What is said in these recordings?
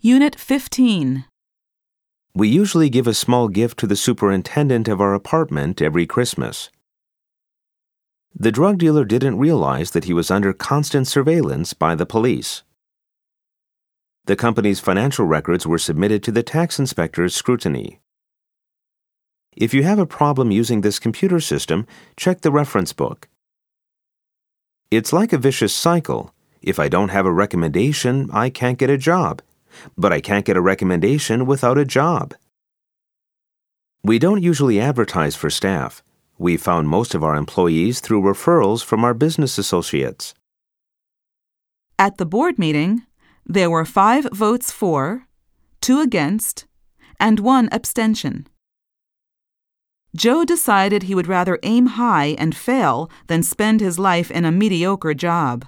Unit 15. We usually give a small gift to the superintendent of our apartment every Christmas. The drug dealer didn't realize that he was under constant surveillance by the police. The company's financial records were submitted to the tax inspector's scrutiny. If you have a problem using this computer system, check the reference book. It's like a vicious cycle. If I don't have a recommendation, I can't get a job. But I can't get a recommendation without a job. We don't usually advertise for staff. We found most of our employees through referrals from our business associates. At the board meeting, there were 5 votes for, 2 against, and 1 abstention. Joe decided he would rather aim high and fail than spend his life in a mediocre job.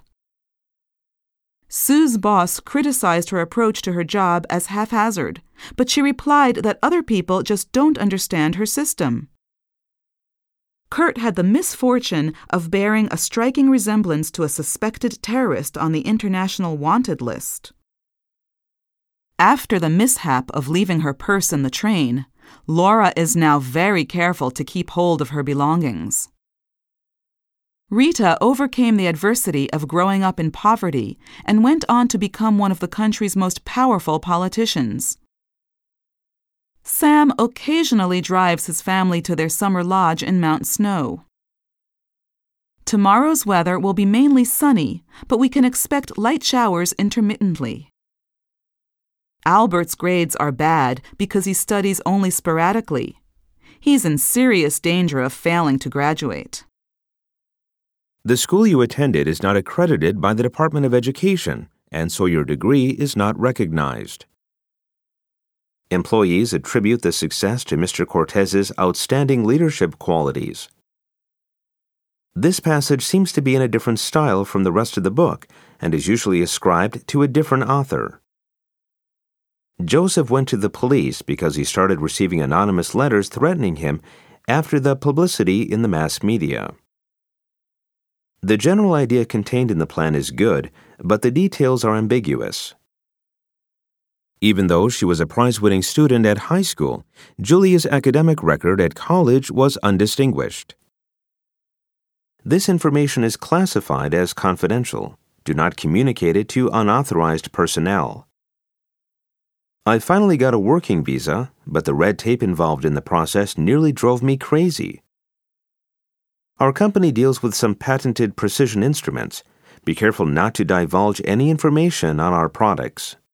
Sue's boss criticized her approach to her job as haphazard, but she replied that other people just don't understand her system. Kurt had the misfortune of bearing a striking resemblance to a suspected terrorist on the international wanted list. After the mishap of leaving her purse in the train, Laura is now very careful to keep hold of her belongings. Rita overcame the adversity of growing up in poverty and went on to become one of the country's most powerful politicians. Sam occasionally drives his family to their summer lodge in Mount Snow. Tomorrow's weather will be mainly sunny, but we can expect light showers intermittently. Albert's grades are bad because he studies only sporadically. He's in serious danger of failing to graduate. The school you attended is not accredited by the Department of Education, and so your degree is not recognized. Employees attribute the success to Mr. Cortez's outstanding leadership qualities. This passage seems to be in a different style from the rest of the book and is usually ascribed to a different author. Joseph went to the police because he started receiving anonymous letters threatening him after the publicity in the mass media. The general idea contained in the plan is good, but the details are ambiguous. Even though she was a prize-winning student at high school, Julia's academic record at college was undistinguished. This information is classified as confidential. Do not communicate it to unauthorized personnel. I finally got a working visa, but the red tape involved in the process nearly drove me crazy. Our company deals with some patented precision instruments. Be careful not to divulge any information on our products.